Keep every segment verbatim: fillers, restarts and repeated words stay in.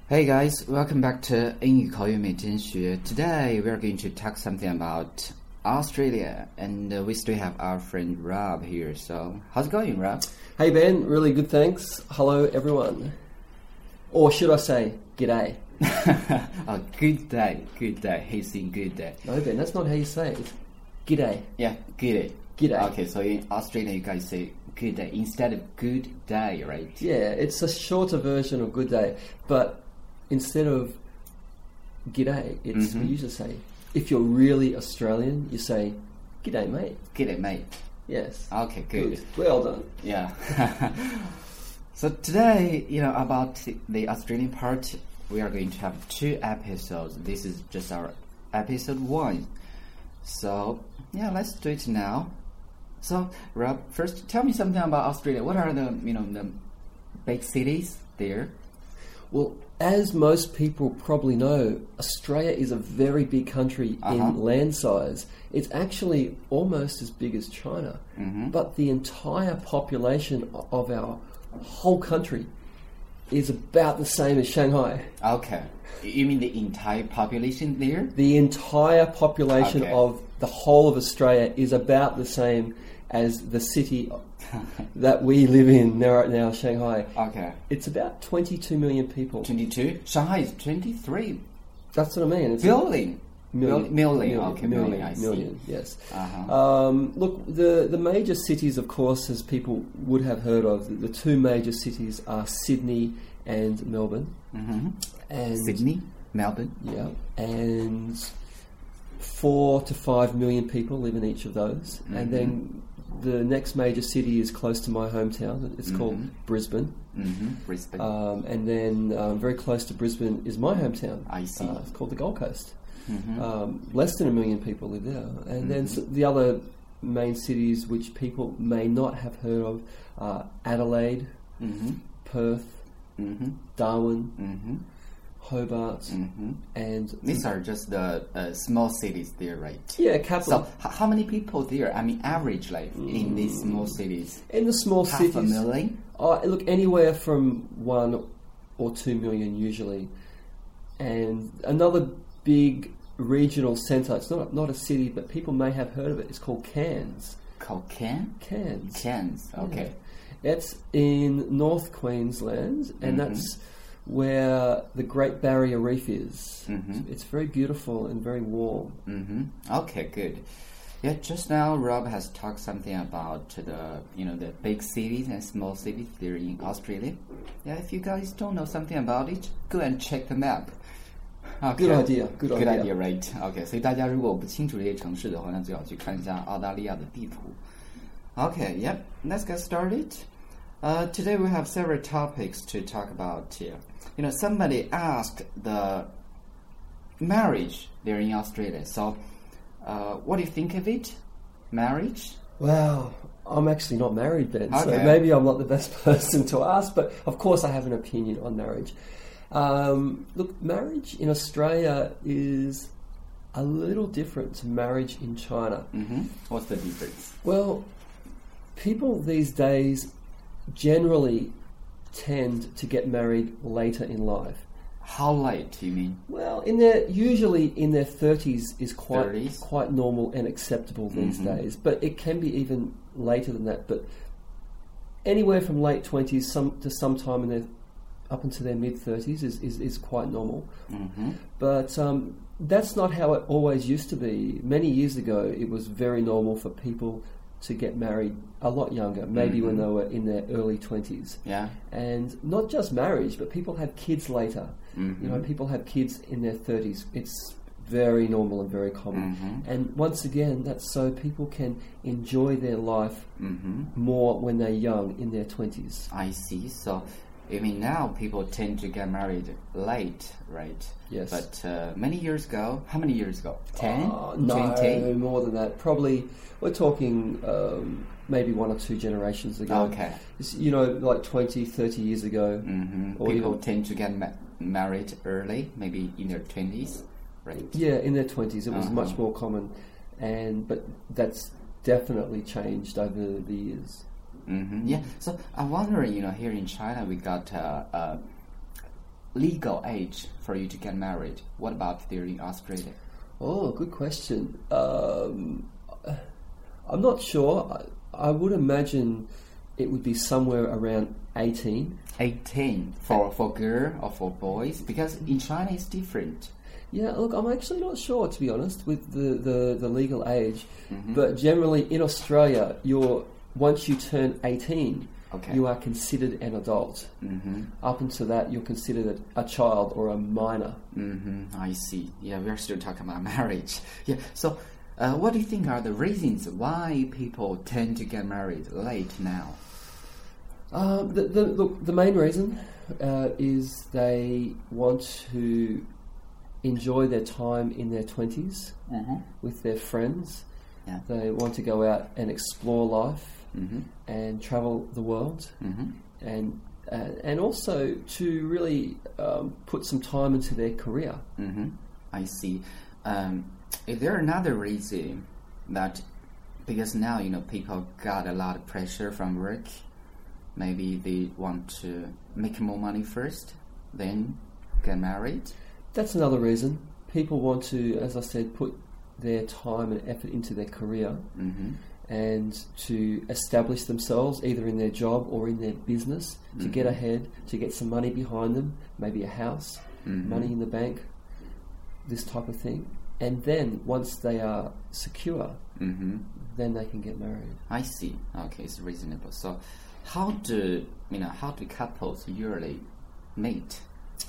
Hey guys, welcome back to 英语口语每天学. Today we are going to talk something about Australia, and uh, we still have our friend Rob here. So, how's it going, Rob? Hey Ben, really good, thanks. Hello everyone. Or should I say, g'day? Oh, good day, good day. He's in good day. No Ben, that's not how you say it. G'day. Yeah, good day. G'day. Okay, so in Australia you guys say good day instead of good day, right? Yeah, it's a shorter version of good day, but instead of g'day, it's Mm-hmm. we usually say, if you're really Australian, you say, g'day mate. Good day, mate. Yes. Okay, good. Good. Well done. Yeah. So today, you know, about the, the Australian part, we are going to have two episodes. This is just our episode one. So, yeah, let's do it now. So, Rob, first tell me something about Australia. What are the, you know, the big cities there? Well, as most people probably know, Australia is a very big country Uh-huh. in land size. It's actually almost as big as China. Mm-hmm. But the entire population of our whole country is about the same as Shanghai. Okay. You mean the entire population there? The entire population Okay. of the whole of Australia is about the same as the city that we live in now, right now, Shanghai. Okay. It's about twenty-two million people. twenty-two? Shanghai is twenty-three That's what I mean. It's billion. Million, Million, okay, million, million, I see. million, yes. Uh-huh. Um, look, the, the major cities, of course, as people would have heard of, the, the two major cities are Sydney and Melbourne. Mm-hmm. And Sydney, Melbourne. Yeah, and four to five million people live in each of those. Mm-hmm. And then the next major city is close to my hometown. It's Mm-hmm. called Brisbane. Mm-hmm. Brisbane. Um, and then um, very close to Brisbane is my hometown. I see. Uh, it's called the Gold Coast. Mm-hmm. Um, less than a million people live there. And then s the other main cities which people may not have heard of are Adelaide, Mm-hmm. Perth, Mm-hmm. Darwin, Mm-hmm. Hobart, Mm-hmm. and These are just the uh, small cities there, right? yeah, So, capital. h- how many people there? I mean, average, like, in these small cities? In the small Half cities, a million? Uh, look, anywhere from one or two million usually. And another big regional centre, it's not, not a city, but people may have heard of it, it's called Cairns. Called Can? Cairns. Cairns, okay. It's in North Queensland, and Mhm. that's where the Great Barrier Reef is. Mhm. It's very beautiful and very warm. Mm-hmm. Okay, good. Yeah, just now Rob has talked something about the, you know, the big cities and small cities there in Australia. Yeah, if you guys don't know something about it, go and check the map. Okay. Good idea, good Good idea. idea, right? Okay, 所以大家如果不清楚这些城市的话，那最好去看一下澳大利亚的地图。Okay, yep, let's get started. Uh, today we have several topics to talk about here. You know, somebody asked the marriage there in Australia. So, uh, what do you think of it? Marriage? Wow, I'm actually not married, Ben, so Okay. maybe I'm not the best person to ask, but of course I have an opinion on marriage. Um, look, marriage in Australia is a little different to marriage in China. Mm-hmm. What's the difference? Well, people these days generally tend to get married later in life. How late, you mean? Well, in their usually in their thirties is quite thirties? quite normal and acceptable these Mhm. days, but it can be even later than that. But anywhere from late twenties some to sometime in their up into their mid thirties is, is, is quite normal. Mm-hmm. But um, that's not how it always used to be. Many years ago, it was very normal for people to get married a lot younger, maybe when Mhm. they were in their early twenties. Yeah. And not just marriage, but people have kids later. Mhm. You know, people have kids in their thirties. It's very normal and very common. Mhm. And once again, that's so people can enjoy their life Mm-hmm. more when they're young, in their twenties. I see. So, I mean, now people tend to get married late, right? Yes. But uh, many years ago, how many years ago? Ten? Uh, no, twenty? more than that. Probably, we're talking um, maybe one or two generations ago. Okay. It's, you know, like twenty, thirty years ago. Mm-hmm. Or People even- tend to get ma- married early, maybe in their twenties, right? Yeah, in their twenties, it was Uh-huh. much more common, and but that's definitely changed over the years. Mm-hmm. Yeah. So I'm wondering, you know, here in China, we got uh, uh, legal age for you to get married? What about there in Australia? Oh, good question. Um, I'm not sure. I, I would imagine it would be somewhere around eighteen. eighteen for, for girl or for boys? Because in China it's different. Yeah, look, I'm actually not sure, to be honest, with the, the, the legal age. Mm-hmm. But generally in Australia, you're once you turn eighteen, Okay. you are considered an adult. Mm-hmm. Up until that, you're considered a, a child or a minor. Mm-hmm. I see. Yeah, we're still talking about marriage. Yeah. So, uh, what do you think are the reasons why people tend to get married late now? Uh, the, the, look, the main reason uh, is they want to enjoy their time in their twenties Mm-hmm. with their friends. Yeah. They want to go out and explore life Mm-hmm. and travel the world, Mm-hmm. and uh, and also to really um, put some time into their career. Mm-hmm. I see. Um, is there another reason that because now you know people got a lot of pressure from work? Maybe they want to make more money first, then get married. That's another reason. People want to, as I said, put their time and effort into their career Mm-hmm. and to establish themselves either in their job or in their business, to Mm-hmm. get ahead, to get some money behind them, maybe a house, Mm-hmm. money in the bank, this type of thing. And then once they are secure, Mm-hmm. then they can get married. I see. Okay, it's reasonable. So, how do you know? How do couples usually meet?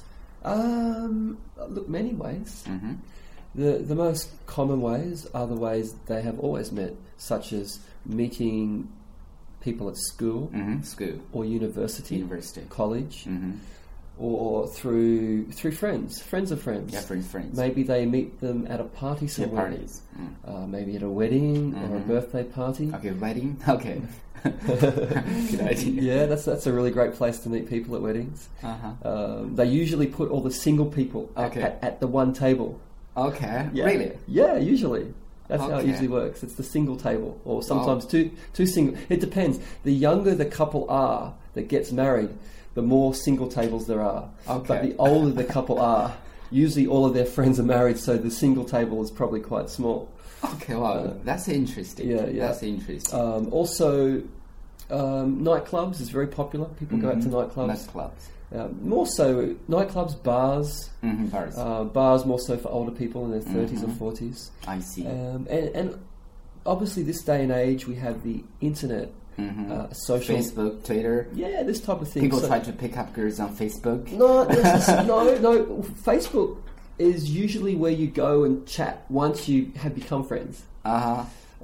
Um, look, many ways. Mm-hmm. The the most common ways are the ways they have always met, such as meeting people at school Mm-hmm. School, or university, university. college, Mm-hmm. or through through friends, friends of friends. Yeah, friends, friends. Maybe they meet them at a party Yeah, somewhere. parties. Mm. Uh, maybe at a wedding or a Mhm. birthday party. Okay, wedding. Okay. Good idea. Yeah, that's that's a really great place to meet people at weddings. Uh-huh. Um, they usually put all the single people at, Okay. at, at the one table. Okay. Yeah. Really? Yeah, usually. That's how it Okay. usually works. It's the single table, or sometimes two two single. It depends. The younger the couple are that gets married, the more single tables there are. Okay. But the older the couple are, usually all of their friends are married, so the single table is probably quite small. Okay. Wow, Uh, that's interesting. yeah, yeah. That's interesting. Um, also, um, nightclubs is very popular. People go out to Mhm. nightclubs. Nightclubs. Uh, more so, nightclubs, bars. Mm-hmm. Bars. Uh, bars more so for older people in their thirties Mhm. or forties. I see. Um, and, and obviously, this day and age, we have the internet, mm-hmm. uh, social. Facebook, Twitter. Yeah, this type of thing. People So- try to pick up girls on Facebook. No, there's this- no, no. Facebook is usually where you go and chat once you have become friends. Uh-huh.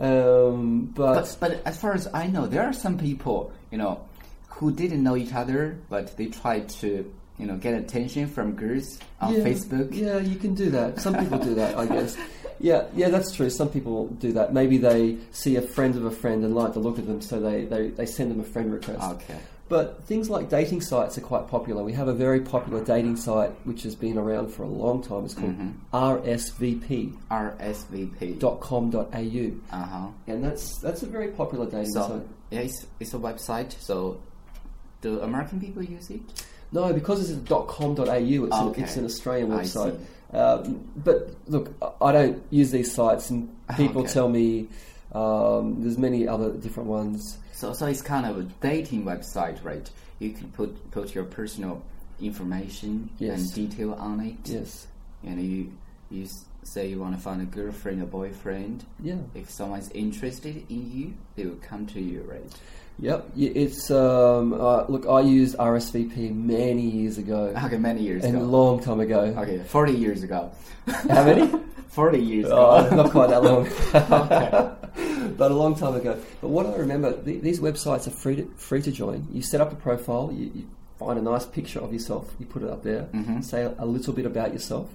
Um, but, But but as far as I know, there are some people, you know, who didn't know each other, but they tried to, you know, get attention from girls on yeah, Facebook. Yeah, you can do that. Some people do that, I guess. Yeah, yeah, that's true. Some people do that. Maybe they see a friend of a friend and like the look of them, so they, they, they send them a friend request. Okay. But things like dating sites are quite popular. We have a very popular dating site which has been around for a long time. It's called Mhm. R S V P R S V P. dot com dot A U, Uh-huh. and that's that's a very popular dating So, site. yeah, it's, it's a website. So, do American people use it? No, because it's a .com dot A U, it's, Okay. an, it's an Australian I website. see. Um, but look, I don't use these sites, and people Okay. tell me um, there's many other different ones. So, so it's kind of a dating website, right? You can put put your personal information Yes. and detail on it. Yes, And you you s- say you want to find a girlfriend or boyfriend. yeah, If someone's interested in you, they will come to you, right? yep. Y- It's um, uh, look, I used R S V P many years ago, Okay, many years and a ago. long time ago. Okay, forty years ago. How many? Forty years Oh, ago. not quite that long. Okay. But a long time ago. But what I remember, th- these websites are free to, free to join. You set up a profile, you, you find a nice picture of yourself, you put it up there, Mhm. say a, a little bit about yourself,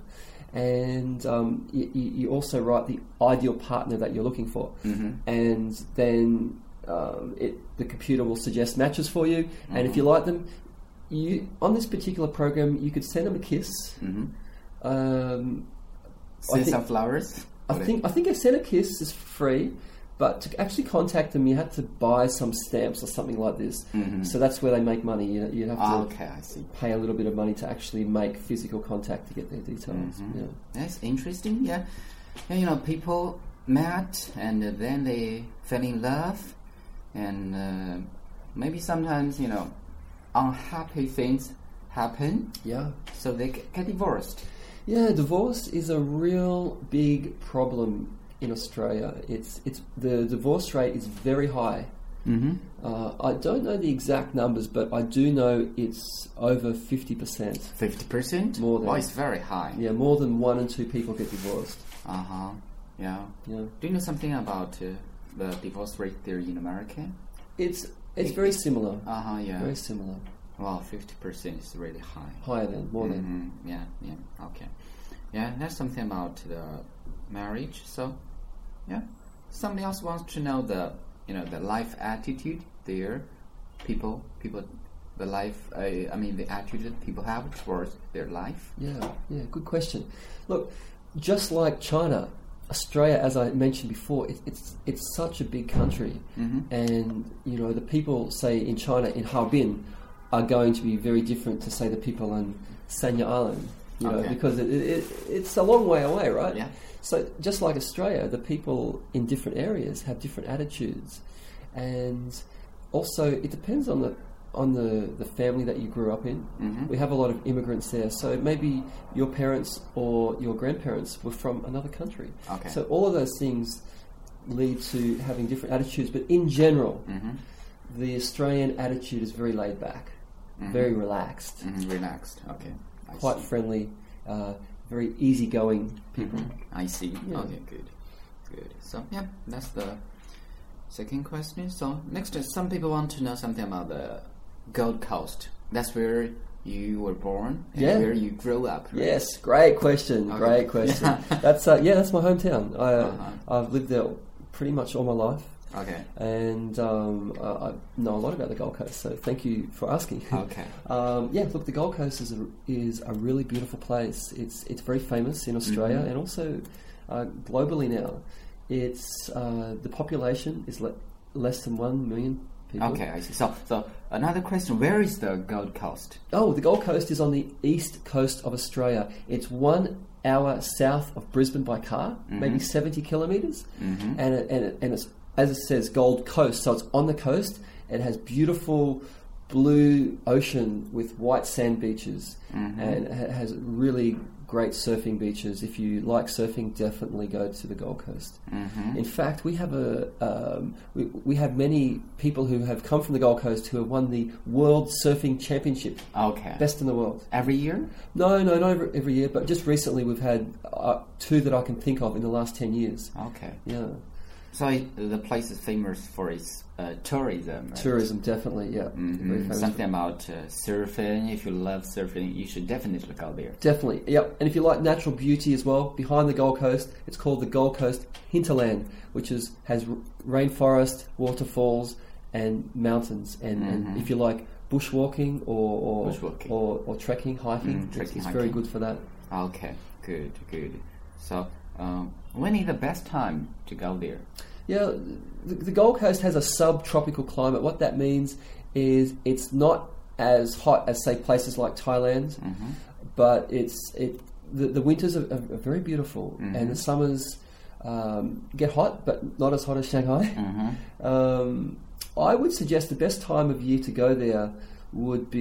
and um, you, you also write the ideal partner that you're looking for. Mhm. And then um, it, the computer will suggest matches for you, and if Mhm. you like them, you on this particular program, you could send them a kiss. Mhm. Um, I Send think- some flowers. I think I think a send a kiss is free, But to actually contact them, you had to buy some stamps or something like this. Mm-hmm. So that's where they make money. You you have to Okay, I see. pay a little bit of money to actually make physical contact to get their details. Mhm. Yeah. That's interesting. Yeah, and, you know, people met and uh, then they fell in love, and uh, maybe sometimes, you know, unhappy things happen, Yeah. so they g- get divorced. Yeah, divorce is a real big problem in Australia. It's it's the divorce rate is very high. Mm-hmm. Uh, I don't know the exact numbers, but I do know it's over fifty percent. Fifty percent. More than- Oh, it's very high. Yeah, more than one in two people get divorced. Uh huh. Yeah. Yeah, Do you know something about uh, the divorce rate there in America? it's it's very similar. Uh huh. Yeah. Very similar. Well, fifty percent is really high. Higher than more than. Mhm. Yeah, yeah, okay. Yeah, that's something about the marriage. So, yeah, somebody else wants to know the, you know, the life attitude there. People, people, the life. Uh, I mean, the attitude that people have towards their life. Yeah, yeah, good question. Look, just like China, Australia, as I mentioned before, it, it's it's such a big country, Mm-hmm. and you know the people, say in China, in Harbin, are going to be very different to say the people on Sanya Island, you know, Okay. because it, it, it, it's a long way away, right? Yeah. So just like Australia, the people in different areas have different attitudes, and also it depends on the on the, the family that you grew up in. Mm-hmm. We have a lot of immigrants there, so maybe your parents or your grandparents were from another country. Okay. So all of those things lead to having different attitudes, but in general, Mm-hmm. the Australian attitude is very laid back, Mhm. very relaxed, Mm-hmm. Relaxed. Okay. I quite see. friendly, uh, very easygoing people. Mhm. I see. Yeah. Okay, good, good. So yeah, that's the second question. So next, uh, some people want to know something about the Gold Coast. That's where you were born and Yeah. where you grew up. Right? Yes, great question. Okay. Great question. That's uh, yeah, that's my hometown. I, uh, Uh-huh. I've lived there pretty much all my life, Okay. and um, I, I know a lot about the Gold Coast. So thank you for asking. Okay. um, yeah, look, the Gold Coast is a, is a really beautiful place. It's it's very famous in Australia Mhm. and also uh, globally now. It's uh, the population is le- less than one million people. Okay, I see. So, so another question: where is the Gold Coast? Oh, the Gold Coast is on the east coast of Australia. It's one hour south of Brisbane by car, maybe seventy kilometres, Mhm. and it, and it, and it's, as it says, Gold Coast. So it's on the coast. It has beautiful blue ocean with white sand beaches, Mhm. and it ha- has really great surfing beaches. If you like surfing, definitely go to the Gold Coast. Mm-hmm. In fact, we have a um, we, we have many people who have come from the Gold Coast who have won the World Surfing Championship, Okay. best in the world. Every year? No, no, not every, every year, but just recently we've had uh, two that I can think of in the last ten years. Okay. Yeah, So it, the place is famous for its uh, tourism. Right? tourism definitely. Yeah, Mhm. very famous. Something about uh, surfing. If you love surfing, you should definitely go there. Definitely, yep. And if you like natural beauty as well, behind the Gold Coast, it's called the Gold Coast Hinterland, which is has r- rainforest, waterfalls, and mountains. And, Mhm. and if you like bushwalking or or, Bushwalking. or, or trekking, hiking, Mm, it's, trekking, it's very hiking. good for that. Okay, good, good. So, um, when is the best time to go there? Yeah, the, the Gold Coast has a subtropical climate. What that means is it's not as hot as, say, places like Thailand, Mm-hmm. but it's it. The, the winters are, are, are very beautiful, Mhm. and the summers um, get hot, but not as hot as Shanghai. Mm-hmm. Um, I would suggest the best time of year to go there would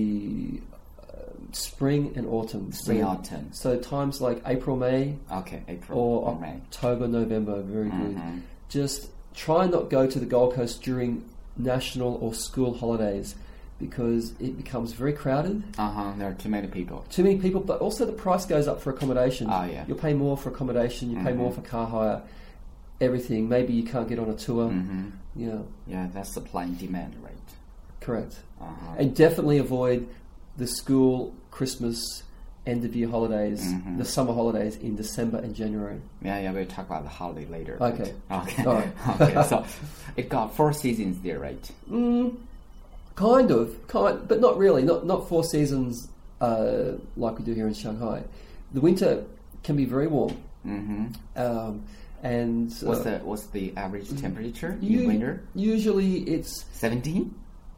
be uh, spring and autumn. Spring, So- autumn. So times like April, May, Okay, April or or May. October, November, very good. Mhm. Just try and not go to the Gold Coast during national or school holidays because it becomes very crowded. Uh huh. There are too many people. Too many people, but also the price goes up for accommodation. Oh, yeah. You'll pay more for accommodation, you pay Mhm. more for car hire, everything. Maybe you can't get on a tour. Mm-hmm. You know, Yeah, that's supply and demand, right? correct. Uh-huh. And definitely avoid the school, Christmas, end of year holidays, Mhm. the summer holidays in December and January. Yeah, yeah, we'll talk about the holiday later. Okay. but- Okay. All right. okay. So it got four seasons there, right? Mm, kind of, kind, but not really. Not not four seasons uh, like we do here in Shanghai. The winter can be very warm, Mm-hmm. um, And What's uh, the what's the average temperature in u- winter? Usually it's Seventeen,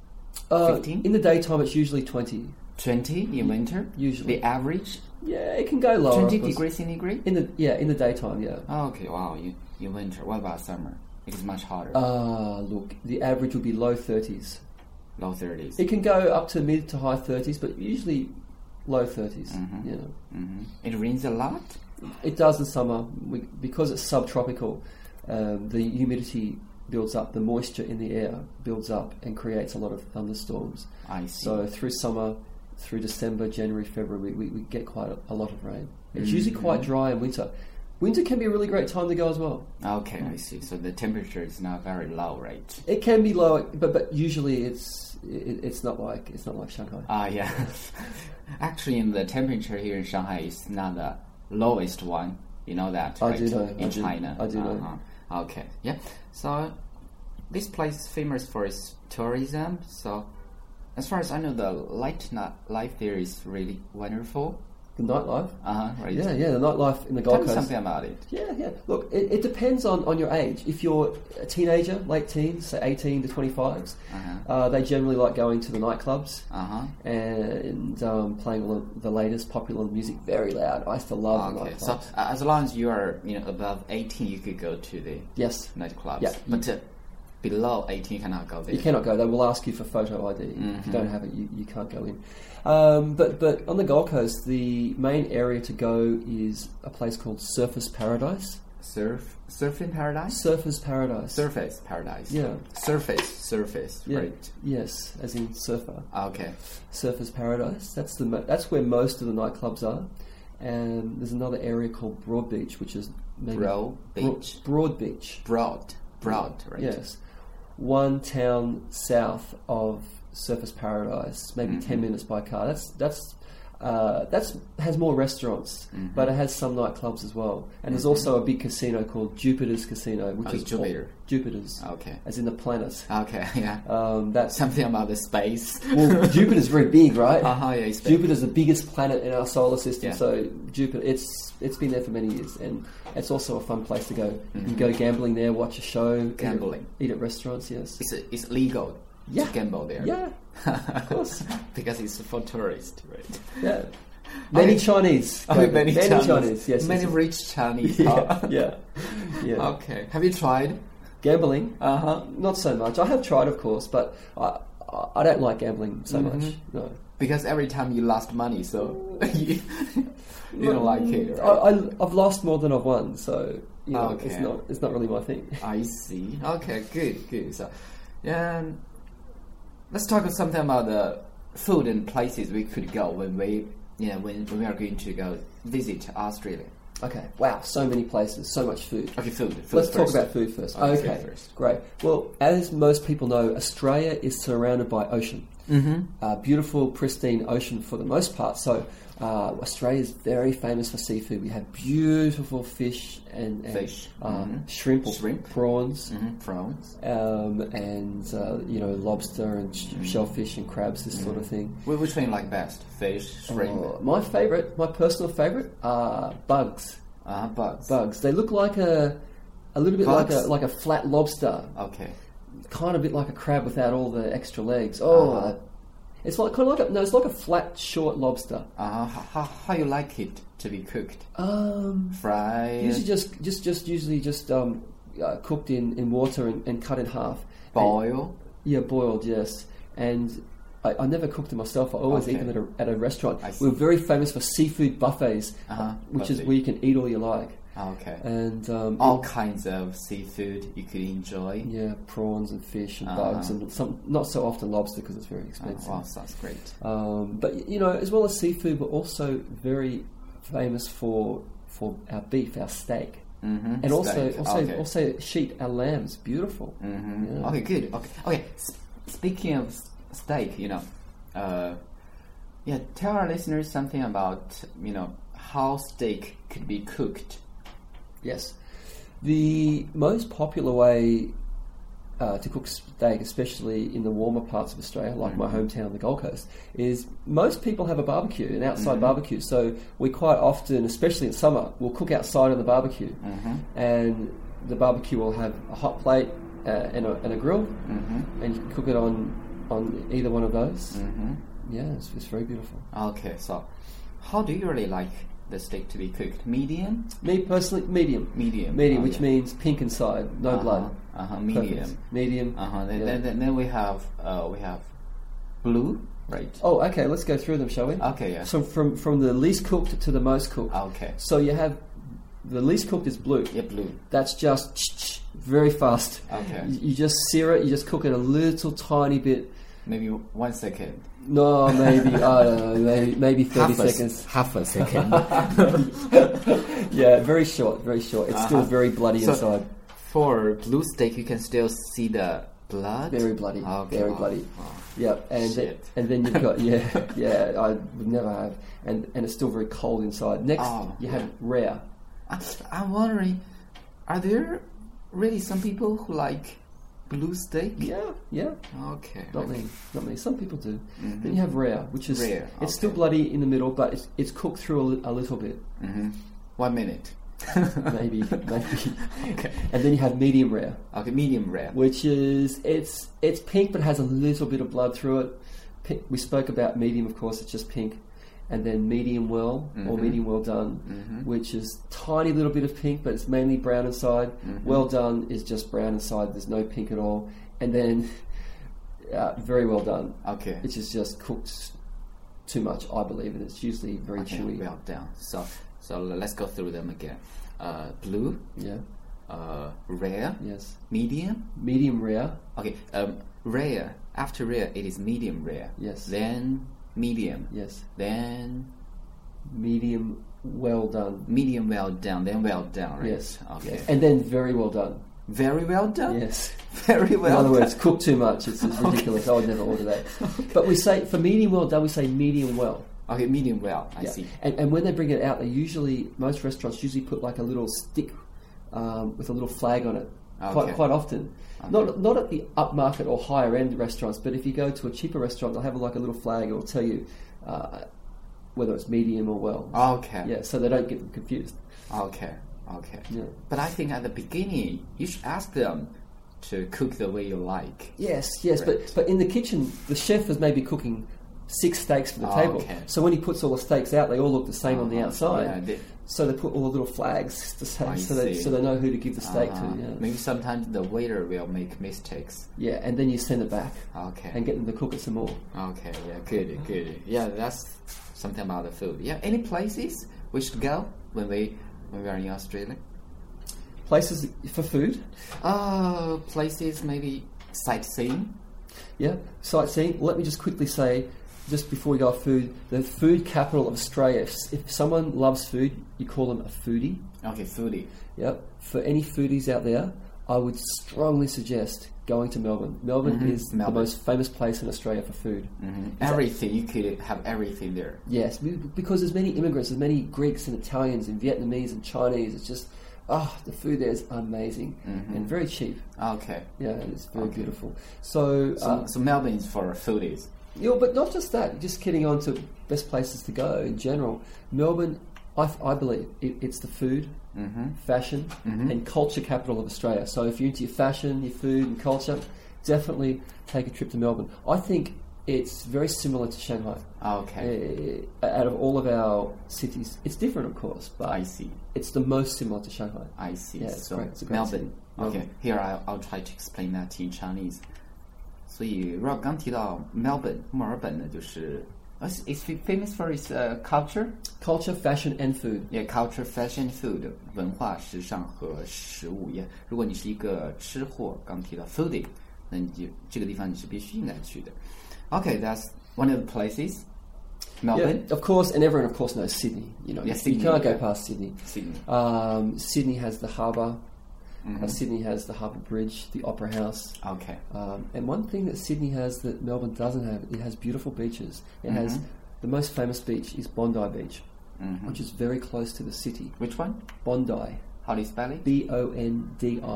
uh, fifteen, in the daytime. It's usually twenty. twenty in winter. Usually. The average Yeah, it can go lower. twenty of course. degrees centigrade. In the yeah, in the daytime, yeah. Oh, okay, wow. You in winter. What about summer? It's much hotter. Ah, look, the average would be low thirties. Low thirties. It can go up to mid to high thirties, but usually low thirties. Mhm. You know, Mm-hmm. It rains a lot. it does in summer we, because it's subtropical. Um, the humidity builds up, the moisture in the air builds up and creates a lot of thunderstorms. I see. So through summer, through December, January, February, we, we get quite a, a lot of rain. It's Mm-hmm. usually quite dry in winter. Winter can be a really great time to go as well. Okay, I see. So the temperature is not very low, right? It can be low, but but usually it's it, it's not like it's not like Shanghai. Ah, yeah. Actually, in the temperature here in Shanghai is not the lowest one. You know that, I right? do know, In I do- China. I do know. Uh-huh. Okay, yeah. So this place is famous for its tourism. So as far as I know, the light night life there is really wonderful. The nightlife. Uh huh. Right. Yeah, yeah, the nightlife in the Tell Gold me Coast. something about it. Yeah, yeah. Look, it, it depends on, on your age. If you're a teenager, late teens, say eighteen to twenty-fives, Uh-huh. uh, they generally like going to the nightclubs Uh huh. and um, playing all of the latest popular music very loud. I used to love the Okay. nightclubs. So uh, as long as you are, you know, above eighteen, you could go to the yes, nightclubs. Yeah. But uh, below eighteen, you cannot go there. you cannot go. They will ask you for photo I D. If Mhm. you don't have it, you, you can't go in. Um, but but on the Gold Coast, the main area to go is a place called Surfers Paradise. Surf, surfing paradise. Surfers Paradise. Surface paradise. Yeah. Surface, surface. Yeah. Right. Yes, as in surfer. Okay. Surfers Paradise. That's the mo- that's where most of the nightclubs are. And there's another area called Broad Beach, which is maybe Broad Bro- Beach. Broad Beach. Broad, broad. Right. Yes, one town south of Surfers Paradise, maybe Mhm. ten minutes by car. That's that's uh, that's has more restaurants, Mhm. but it has some nightclubs as well. And there's Mhm. also a big casino called Jupiter's Casino, which Oh, is Jupiter. Jupiter's, Okay. as in the planet. Okay. Yeah. Um, that's Something about the space. well, Jupiter's very big, right? Uh huh. Yeah. It's big. Jupiter's the biggest planet in our solar system, Yeah. so Jupiter it's it's been there for many years, and it's also a fun place to go. You can Mhm. go gambling there, watch a show, Gambling. eat at, eat at restaurants. Yes, It's it's legal Yeah. to gamble there. yeah, of course, because it's for tourists, right? yeah. Many Okay. Chinese, Oh, go many, there. Chinese. Chinese, yes, Many yes, rich Chinese. yes. huh? yeah, yeah, yeah. Okay. Have you tried? Gambling, Uh huh. not so much. I have tried, of course, but I I- I don't like gambling so Mhm. much. No. Because every time you lost money, so you, you don't like it, I, right? I, I've lost more than I've won, so you know, Okay. it's not it's not really my thing. I see. Okay, good, good. So, um, let's talk something about the food and places we could go when we, you know, when, when we are going to go visit Australia. Okay, wow, so many places, so much food. Okay, food. food Let's first. talk about food first. Okay, Okay, food first. great. Well, as most people know, Australia is surrounded by ocean. Mm-hmm. Uh, beautiful, pristine ocean for the most part. So uh, Australia is very famous for seafood. We have beautiful fish and, and Fish. um, Mhm. shrimp, or Shrimp. prawns, Mm-hmm. Prawns. um, and uh, you know lobster and sh- Mm-hmm. shellfish and crabs, this sort of thing. Wh- Which one you like best? Fish, shrimp, Uh, my favorite, my personal favorite, are bugs. uh, bugs. Bugs. They look like a a little bit Bugs? like a like a flat lobster. Okay. Kind of a bit like a crab without all the extra legs. Oh, Uh-huh. it's like kind of like a, no, it's like a flat, short lobster. Uh, how, how, how you like it to be cooked? Um, Fried? usually just just just usually just um, uh, cooked in, in water and, and cut in half. Boil? And, yeah, boiled. Yes, and I, I never cooked them myself. I always eat Okay. them at a, at a restaurant. I see. We're very famous for seafood buffets, Uh-huh. which is Buffet. where you can eat all you like. Okay. And um, All kinds of seafood you could enjoy. yeah, prawns and fish and Uh-huh. bugs and some not so often lobster because it's very Oh, expensive. wow, sounds great. Um, but you know, as well as seafood, we're also very famous for for our beef, our steak, Mm-hmm. and also Steak. also okay. also sheep. Our lamb's beautiful. Mm-hmm. Yeah. Okay, good. Okay, okay. S- speaking of s- steak, you know, uh, yeah, tell our listeners something about you know how steak could be cooked. Yes, the most popular way uh, to cook steak, especially in the warmer parts of Australia, like mm-hmm. my hometown, the Gold Coast, is most people have a barbecue, an outside mm-hmm. barbecue. So we quite often, especially in summer, we'll cook outside on the barbecue, mm-hmm. and the barbecue will have a hot plate uh, and, a, and a grill, mm-hmm. and you can cook it on on either one of those. Mm-hmm. Yeah, it's, it's very beautiful. Okay, so how do you really like the steak to be cooked? Medium? Me personally, medium. Medium. Medium, oh, which yeah. means pink inside, no uh-huh. blood. Uh-huh, medium. Perfect. Medium. Uh-huh. Then, yeah. then, then we have uh, we have blue, right? Oh, okay. Let's go through them, shall we? Okay, yeah. So from from the least cooked to the most cooked. Okay. So you have the least cooked is blue. Yeah, blue. That's just very fast. Okay. You, you just sear it. You just cook it a little tiny bit. Maybe one second. No, maybe I don't know. Maybe maybe thirty half seconds. A, half a second. Yeah, very short, very short. It's uh-huh. still very bloody so inside. For blue steak, you can still see the blood. Very bloody. Okay. Very oh, bloody. Oh. Yeah, and then, and then you've got yeah, yeah. I would never have, and and it's still very cold inside. Next, oh, you have rare. I, I'm wondering, are there really some people who like blue steak? Yeah, yeah. Okay. Not okay. many, not many. Some people do. Mm-hmm. Then you have rare, which is rare. It's okay. still bloody in the middle, but it's it's cooked through a, li- a little bit. Mm-hmm. One minute. maybe, maybe. Okay. And then you have medium rare. Okay, medium rare. Which is it's it's pink but has a little bit of blood through it. Pink, we spoke about medium, of course. It's just pink. And then medium well mm-hmm. or medium well done, mm-hmm. which is tiny little bit of pink, but it's mainly brown inside. Mm-hmm. Well done is just brown inside. There's no pink at all. And then uh, very well done. Okay. Which is just cooked too much, I believe, and it's usually very okay, chewy. Well done. So so let's go through them again. Uh, blue. Yeah. Uh, rare. Yes. Medium. Medium rare. Okay. Um, rare. After rare, it is medium rare. Yes. Then medium. Yes. Then medium well done. Medium well done. Then well done. Right? Yes. Okay. Yes. And then very well done. Very well done. Yes. Very well. In other done. words, cook too much. It's, it's ridiculous. Okay. I would never order that. Okay. But we say for medium well done, we say medium well. Okay, medium well. I yeah. see. And and when they bring it out, they usually most restaurants usually put like a little stick um, with a little flag on it. Okay. Quite quite often. Okay. Not not at the upmarket or higher end restaurants, but if you go to a cheaper restaurant, they'll have like a little flag. It will tell you uh, whether it's medium or well. Okay. Yeah, so they don't get them confused. Okay. Okay. Yeah. But I think at the beginning you should ask them to cook the way you like. Yes, yes, right. but but in the kitchen, the chef is maybe cooking six steaks for the oh, table. Okay. So when he puts all the steaks out, they all look the same uh-huh. on the outside. Yeah, they, so they put all the little flags to say, I so they see. so they know who to give the steak uh-huh. to. Yeah. Maybe sometimes the waiter will make mistakes. Yeah, and then you send it back. Okay. And get them to cook it some more. Okay. Yeah. Good. Good. Yeah. That's something about the food. Yeah. Any places we should go when we when we are in Australia? Places for food? Uh, places maybe sightseeing. Yeah, sightseeing. Let me just quickly say, just before we go off food, the food capital of Australia. If, if someone loves food, you call them a foodie. Okay, foodie. Yep. For any foodies out there, I would strongly suggest going to Melbourne. Melbourne mm-hmm. is Melbourne. the most famous place in Australia for food. Mm-hmm. Everything, you could have everything there. Yes, because there's many immigrants, there's many Greeks and Italians and Vietnamese and Chinese. It's just, ah, oh, the food there is amazing mm-hmm. and very cheap. Okay. Yeah, and it's very okay. beautiful. So, so, uh, so Melbourne is for foodies. Yeah, but not just that. Just getting on to best places to go in general. Melbourne, I, I believe, it, it's the food, mm-hmm. fashion, mm-hmm. and culture capital of Australia. So if you're into your fashion, your food, and culture, definitely take a trip to Melbourne. I think it's very similar to Shanghai. Okay. Uh, out of all of our cities, it's different, of course, but I see. It's the most similar to Shanghai. I see. Yeah, it's so great. It's a great Melbourne. city. Okay, Melbourne. Here I'll I'll try to explain that in Chinese. 所以 Rob 刚提到 Melbourne 墨尔本呢，就是 it's famous for its uh, culture, culture, fashion, and food. Yeah, culture, fashion, food 文化、时尚和食物。Yeah， 如果你是一个吃货，刚提到 foodie， 那你就这个地方你是必须应该去的。Okay, that's one of the places. Melbourne, yeah, of course, and everyone, of course, knows Sydney. You know, yeah, you, Sydney, you can't yeah. go past Sydney. Sydney. Um, Sydney has the harbour. Mm-hmm. Uh, Sydney has the Harbour Bridge, the Opera House. Okay. Um, and one thing that Sydney has that Melbourne doesn't have, it has beautiful beaches. It mm-hmm. has the most famous beach is Bondi Beach, mm-hmm. which is very close to the city. Which one? Bondi. How do you spell it? B O N D I.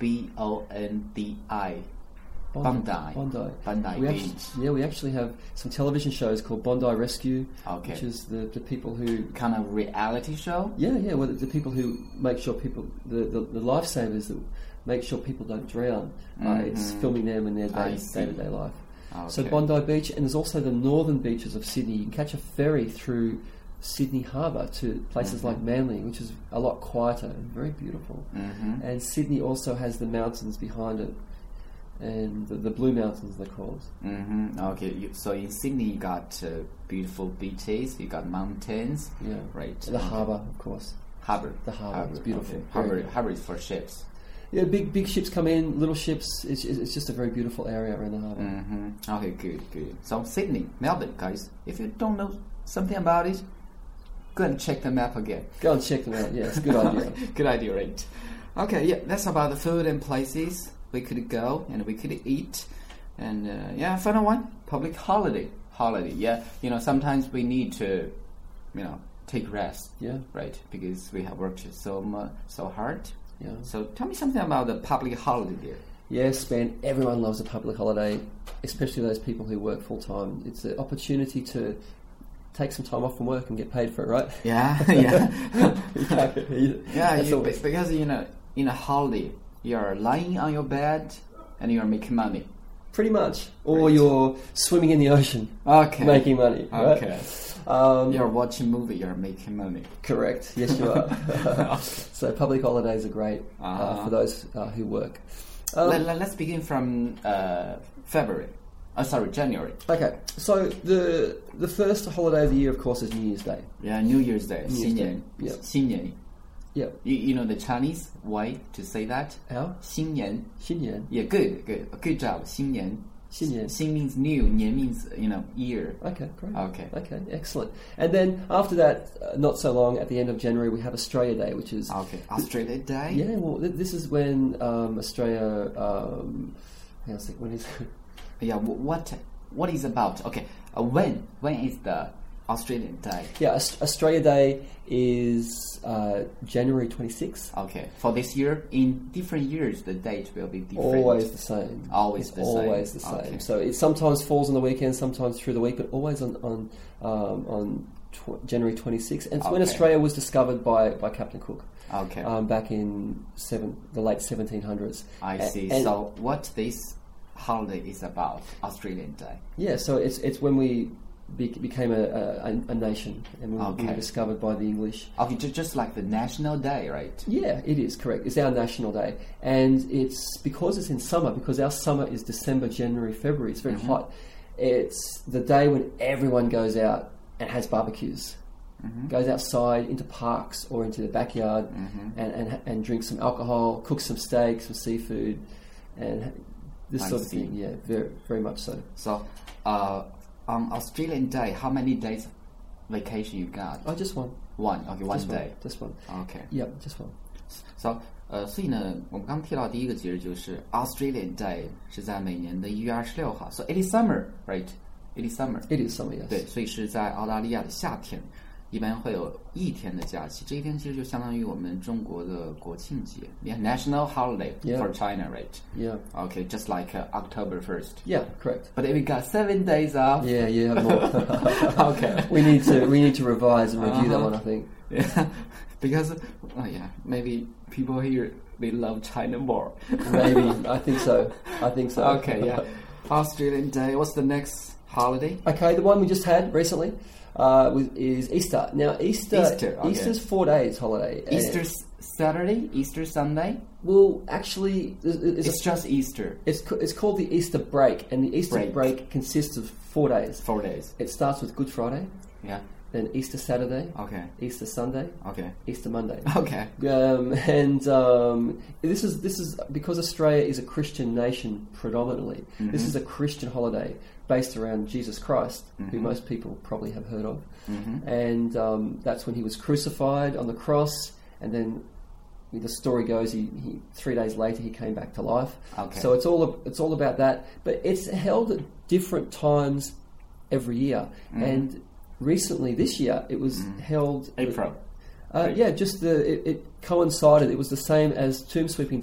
B O N D I. Bondi. Bondi. Bondi we Beach. Actually, yeah, we actually have some television shows called Bondi Rescue, Okay. which is the, the people who... Kind of reality show? Yeah, yeah, well, the, the people who make sure people... The, the, the lifesavers that make sure people don't drown. Uh, Mhm. it's filming them in their I day, see. day-to-day life. So Okay. Bondi Beach, and there's also the northern beaches of Sydney. You can catch a ferry through Sydney Harbour to places Mhm. like Manly, which is a lot quieter and very beautiful. Mm-hmm. And Sydney also has the mountains behind it, and the, the Blue Mountains they're called. Mm-hmm. Okay. You, so in Sydney, you got uh, beautiful beaches. You got mountains. Yeah, Right. the harbour, of course. Harbor. The harbour, it's beautiful. Okay. Very Harbor. good. Harbor is for ships. Yeah, big big ships come in, little ships. It's it's just a very beautiful area around the harbour. Mm-hmm. Okay. Good. Good. So Sydney, Melbourne, guys. If you don't know something about it, go and check the map again. Go and check them out. Yeah, it's a good idea. Good idea, right? Okay, yeah, that's about the food and places we could go and we could eat. And uh, yeah, final one, public holiday. Holiday, yeah. You know, sometimes we need to, you know, take rest, Yeah, right? Because we have worked so much, so hard. yeah. So tell me something about the public holiday there. Yes, Ben, everyone loves a public holiday, especially those people who work full time. It's an opportunity to take some time off from work and get paid for it, right? Yeah, yeah. yeah, That's you, always- because, you know, in a holiday, you're lying on your bed and you're making money. Pretty much. Or Right. you're swimming in the ocean, Okay. making money, right? Okay. Um, You're watching movie, you're making money. Correct. Yes, you are. So public holidays are great uh, Uh-huh. for those uh, who work. Um, let, let, let's begin from uh, February. Oh, sorry, January. okay, so the the first holiday of the year, of course, is New Year's Day. Yeah, New Year's Day. New Year's 新 Day, 年. yeah. 新年. Yeah. You, you know the Chinese way to say that? How? 新年. 新年. Yeah, good, good. Good job. 新年. 新年. 新 means new, 年 means, you know, year. Okay, great. Okay. Okay, excellent. And then after that, uh, not so long, at the end of January, we have Australia Day, which is... Okay. Australia Day? Yeah, well, th- this is when um, Australia... Um, hang on a sec, when is... Yeah, wh- what what is about? Okay, uh, when? When is the Australian Day? yeah, Aus- Australia Day is uh, January twenty-sixth. Okay, for this year, in different years, the date will be different. Always the same. Always It's the same. always the same. Okay. So it sometimes falls on the weekend, sometimes through the week, but always on on um, on tw- January twenty-sixth. And it's when Okay. Australia was discovered by, by Captain Cook Okay, um, back in seven, the late seventeen hundreds. I A- see. and- So what this holiday is about, Australian Day. Yeah, so it's it's when we be, became a, a, a nation and we, we Okay. were discovered by the English. Okay, ju- just like the National Day, right? Yeah, it is correct. It's our national day, and it's because it's in summer. Because our summer is December, January, February. It's very Mhm. hot. It's the day when everyone goes out and has barbecues, Mm-hmm. goes outside into parks or into the backyard, Mm-hmm. and, and and drinks some alcohol, cooks some steak, some seafood, and this I sort of see. thing. Yeah, very very much so. So, uh, on Australian Day, how many days vacation you got? Oh, just one. One. Okay, one just day. One, just one. Okay. Yeah, just one. So, 呃，所以呢，我们刚提到第一个节日就是 Australian Day，是在每年的一月二十六号。So it is summer, right? It is summer. It is summer, yes. 对，所以是在澳大利亚的夏天，一般会有一天的假期。这一天其实就相当于我们中国的国庆节 ，Yeah, National Holiday Yeah. for China, right? Yeah. Okay, just like uh, October first. Yeah, correct. But if we got seven days off, Yeah, yeah, more. okay. We need to we need to revise and review that Uh-huh. one, I think. Yeah, because oh yeah, maybe people here they love China more. Maybe. I think so. I think so. Okay, yeah. Australian Day. What's the next holiday? Okay, the one we just had recently uh, was, is Easter. Now, Easter, Easter, okay. Easter's four days holiday. and- Easter s- Saturday, Easter Sunday. Well, actually, it's, it's, It's just Easter. it's, ca- it's called the Easter break, and the Easter Break. break consists of four days. Four days. It starts with Good Friday, Yeah. then Easter Saturday, Okay. Easter Sunday, Okay. Easter Monday. Okay. Um, and um, this is this is because Australia is a Christian nation predominantly. This Mhm. is a Christian holiday based around Jesus Christ, who Mhm. most people probably have heard of. Mm-hmm. And um, that's when he was crucified on the cross, and then the story goes, he, he three days later he came back to life. Okay. So it's all it's all about that, but it's held at different times every year. Mhm. And recently, this year, it was Mhm. held April. uh, Right. yeah, just the it, it coincided. It was the same as Tomb Sweeping Day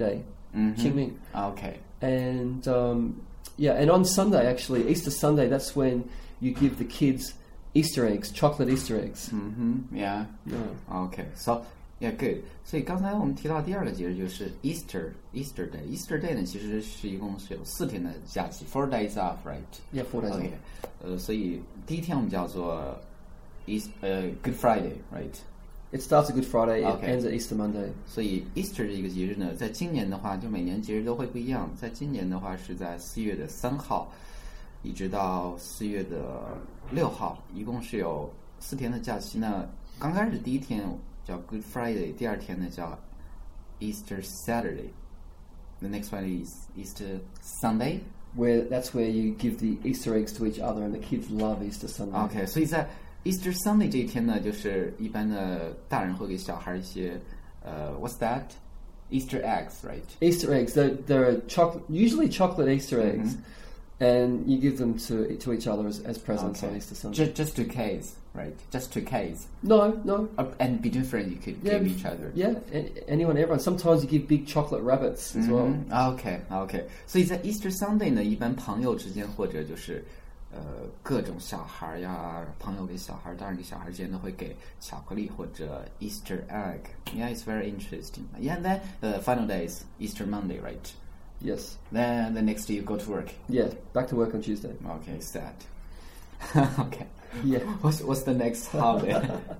Mhm. Qingming. Okay. And um, yeah, and on Sunday, actually, Easter Sunday, that's when you give the kids Easter eggs, chocolate Easter eggs. Mhm. Yeah. Yeah. Okay. So yeah, good. 所以刚才我们提到第二个节日就是 Easter Easter Day. Easter Day 呢，其实是一共是有四天的假期 ，four days off, right? Yeah, four days Okay. off. 呃，所以第一天我们叫做 East 呃 Good Friday, right? It starts at Good Friday, it Okay. ends at Easter Monday. 所以 Easter 这个节日呢，在今年的话，就每年节日都会不一样。在今年的话，是在四月的三号，一直到四月的六号，一共是有四天的假期呢。刚开始第一天叫 Good Friday， 第二天呢叫 Easter Saturday。The next one is Easter Sunday. Where that's where you give the Easter eggs to each other, and the kids love Easter Sunday. OK， 所以在 Easter Sunday 这一天呢，就是一般的大人会给小孩一些呃 ，What's that? Easter eggs, right? Easter eggs. They're, they're chocolate, usually chocolate Easter eggs, Mm-hmm. and you give them to to each other as, as presents Okay. on Easter Sunday. Just, just two Ks, right? Just two Ks. No, no. Uh, and between friends, you could Yeah, give each other. Yeah, a- anyone, everyone. Sometimes you give big chocolate rabbits as well. Mm-hmm. OK OK， 所以在 Easter Sunday 呢，一般朋友之间或者就是呃各种小孩呀，朋友给小孩，大人给小孩之间都会给巧克力或者 Easter egg. Yeah, it's very interesting. Yeah, and then the final day is Easter Monday, right? Yes. Then the next day you go to work. Yeah, back to work on Tuesday. Okay, sad. Okay. Yeah. What's what's the next holiday?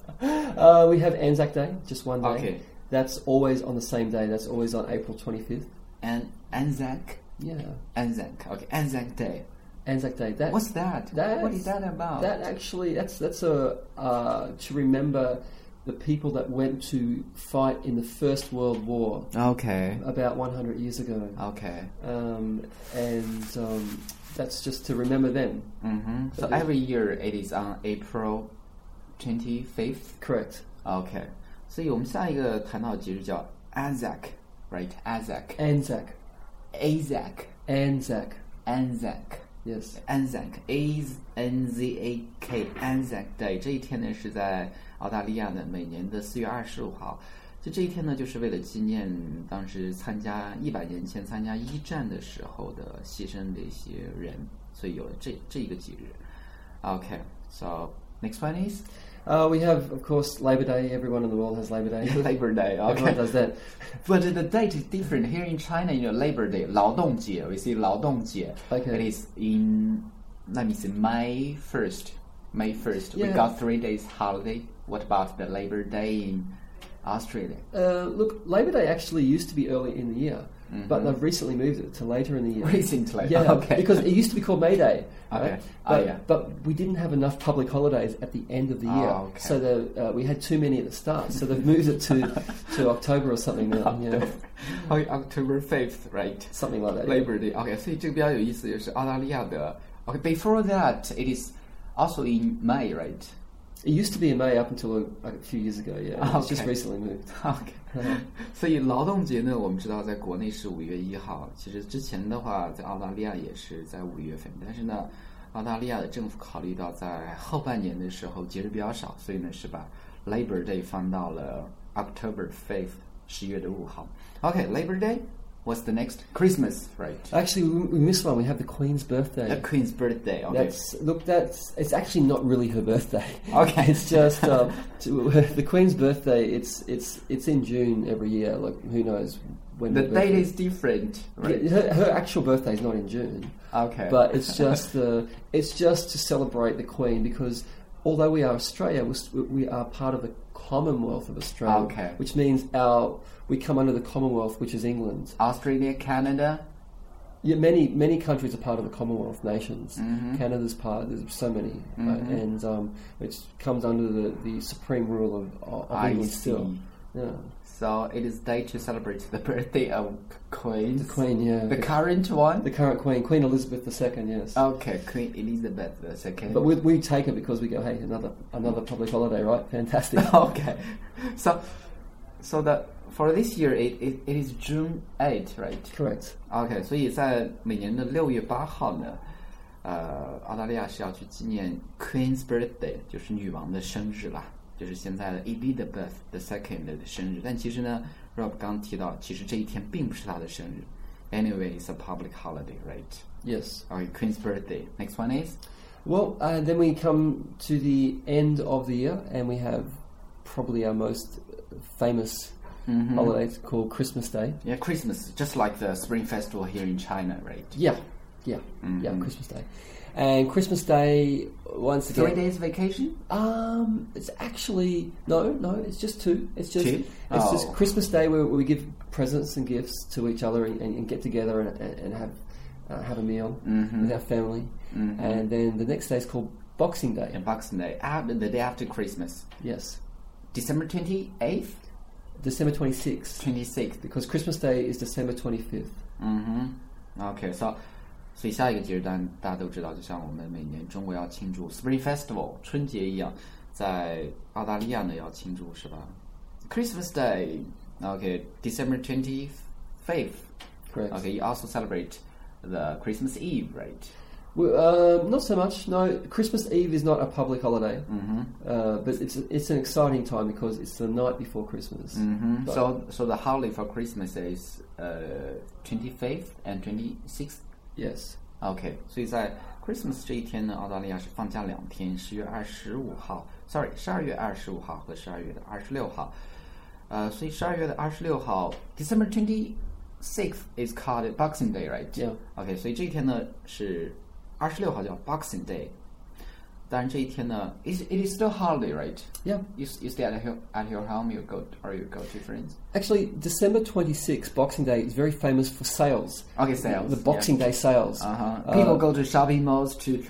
Uh, we have Anzac Day, just one day. Okay. That's always on the same day. That's always on April twenty-fifth. And Anzac. Yeah. Anzac. Okay, Anzac Day. Anzac Day. That, What's that? That's, What is that about? That actually, that's that's a uh, to remember the people that went to fight in the First World War Okay. about one hundred years ago. Okay. Um, and um, that's just to remember them. Mm-hmm. So every year it is on April twenty-fifth. Correct. Okay. 所以我们下一个谈到的节日叫 Anzac, right? Anzac. Anzac. Anzac. Anzac. Anzac. Yes. Anzac, A N Z A K, Anzac Day 这一天呢是在澳大利亚的每年的四月二十五号。就这一天呢，就是为了纪念当时参加一百年前参加一战的时候的牺牲的一些人，所以有了这这一个节日。Okay, so next one is Uh, we have, of course, Labor Day. Everyone in the world has Labor Day. Labor Day. Okay, Everyone does that. but the date is different here in China. You know, Labor Day, 劳动节. We see 劳动节. Okay. It is in, let me see, May first. May first. We Yeah. got three days holiday. What about the Labor Day in Australia? Uh, look, Labor Day actually used to be early in the year, but they've recently moved it to later in the year. Recently, Yeah, okay. because it used to be called May Day. Okay. Right? Oh, But, yeah. but we didn't have enough public holidays at the end of the year, Oh, okay. so the, uh, we had too many at the start. So they've moved it to, to October or something now. You know, Oh, October fifth, right? something like that. yeah. Labor Day. Okay, 所以这个比较有意思，就是澳大利亚的。Okay, before that, it is also in May, right? It used to be in May up until a, a few years ago. Yeah, Oh, it's just okay. recently moved. OK，所以劳动节呢，我们知道在国内是五月一号，其实之前的话，在澳大利亚也是在五月份，但是呢，澳大利亚的政府考虑到在后半年的时候节日比较少，所以呢是把 Labor Day 放到了 October fifth， 十月的五号。OK，Labor Day。What's the next? Christmas, right? Actually, we, we missed one. We have the Queen's birthday. The Queen's birthday. Okay. That's look. That's it's actually not really her birthday. Okay. It's just um, to, the Queen's birthday. It's it's it's in June every year. Like who knows when the her date birthday- is different, right? Yeah, her, her actual birthday is not in June. Okay. But it's just uh, it's just to celebrate the Queen because although we are Australia, we're, we are part of the Commonwealth of Australia, Okay. which means our we come under the Commonwealth, which is England. Australia, Canada. Yeah, many many countries are part of the Commonwealth nations. Mhm. Canada's part. There's so many, right? Mhm. and um, it comes under the, the supreme rule of, of I England see. still. Yeah, So it is day to celebrate the birthday of Queen. the Queen. Yeah, The current one. the current Queen, Queen Elizabeth the Second. Yes. Okay, Queen Elizabeth the second. But we, we take it because we go, hey, another another public holiday, right? Fantastic. Okay, so so the for this year it, it, it is June eighth, right? Correct. OK， 所以在每年的六月八号呢，呃，澳大利亚是要去纪念 Queen's birthday， 就是女王的生日啦。 就是现在的 Elizabeth the Second 的生日。但其实呢 Rob 刚提到，其实这一天并不是他的生日。Anyway, it's a public holiday, right? Yes. Okay, Queen's birthday. Next one is? Well, uh, then we come to the end of the year, and we have probably our most famous mm-hmm. holiday called Christmas Day. Yeah, Christmas, just like the Spring Festival here in China, right? Yeah, yeah, mm-hmm. yeah, Christmas Day. And Christmas Day, once again... Three days vacation? Um, it's actually... No, no, it's just two. It's just two? It's oh. just Christmas Day where we give presents and gifts to each other and, and get together and, and have uh, have a meal mm-hmm. with our family. Mm-hmm. And then the next day is called Boxing Day. And Boxing Day, after, the day after Christmas. Yes. December twenty-eighth? December twenty-sixth. twenty-sixth. Because Christmas Day is December twenty-fifth. Mm-hmm. Okay, so... 所以下一个节日，大大家都知道，就像我们每年中国要庆祝 Spring Festival 春节一样，在澳大利亚呢要庆祝是吧 ？Christmas Day, okay, December twenty-fifth. Correct. Okay, you also celebrate the Christmas Eve, right? Well, uh, not so much. No, Christmas Eve is not a public holiday, mm-hmm. uh, but it's it's an exciting time because it's the night before Christmas. Mm-hmm. So, so the holiday for Christmas is uh, twenty-fifth and twenty-sixth. Yes. OK， 所以在 Christmas 这一天呢，澳大利亚是放假两天，十月二十五号 ，sorry， 十二月二十五号和十二月的二十六号。呃，所以十二月的二十六号 ，December twenty-sixth is called Boxing Day, right? Yeah. OK， 所以这一天呢是二十六号叫 Boxing Day。当然这一天呢 ，it it is still holiday, right? Yeah. You you stay at your at your home, you go or you go to friends. Actually, December twenty-sixth, Boxing Day, is very famous for sales. Okay, sales. The Boxing yeah. Day sales. Uh-huh. People uh, go to shopping malls to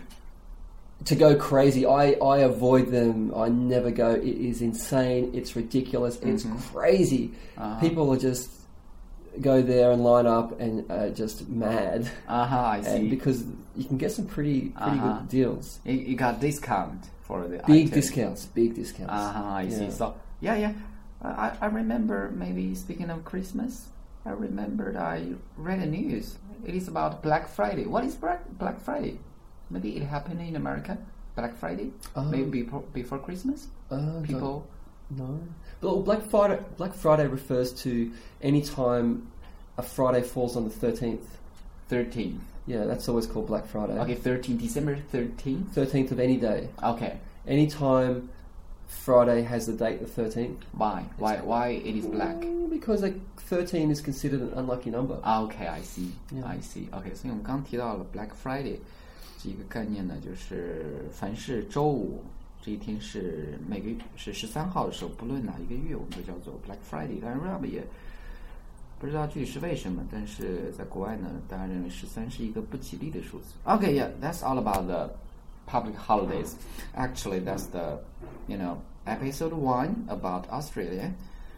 to go crazy. I, I avoid them. I never go. It is insane. It's ridiculous. Mm-hmm. It's crazy. Uh-huh. People are just go there and line up and uh, just mad. Uh-huh, I see. And because you can get some pretty pretty uh-huh. good deals. You, you got discount for the big items. discounts. Big discounts. Uh-huh, I yeah. see. So yeah, yeah. I I remember maybe speaking of Christmas. I remembered I read a news. It is about Black Friday. What is Black Black Friday? Maybe it happened in America. Black Friday. Um, maybe before before Christmas. Uh, People. No. Well, Black Friday. Black Friday refers to any time a Friday falls on the thirteenth. Thirteenth. Yeah, that's always called Black Friday. Okay, thirteenth, December thirteenth. Thirteenth of any day. Okay. Any time Friday has the date the thirteenth. Why? Why? Why it is black? Because like thirteen is considered an unlucky number. Okay, I see. Yeah. I see. Okay, 所以我们刚提到了 Black Friday 这个概念呢，就是凡是周五这一天是每个是十三号的时候，不论哪一个月，我们都叫做 Black Friday。当然 Rob 也不知道具体是为什么，但是在国外呢，大家认为十三是一个不吉利的数字。Okay, yeah, that's all about the public holidays. Actually, that's the, you know, episode one about Australia.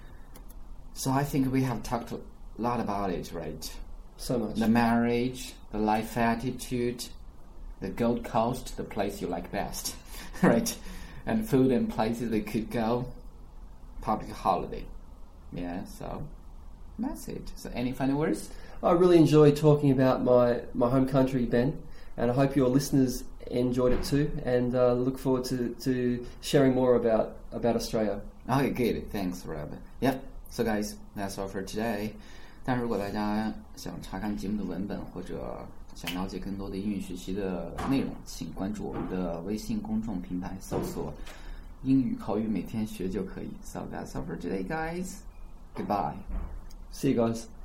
So I think we have talked a lot about it, right? So much. The marriage, the life attitude, the Gold Coast, the place you like best, right? And food and places we could go. Public holiday. Yeah, so that's it. So any final words? I really enjoyed talking about my, my home country, Ben, and I hope your listeners enjoyed it too, and uh, look forward to, to sharing more about, about Australia. Okay, good. Thanks, Rob. Yeah, so guys, that's all for today. 但如果大家想查看节目的文本或者想了解更多的英语学习的内容，请关注我们的微信公众平台，搜索英语口语每天学就可以。So that's all for today, guys. Goodbye. See you guys.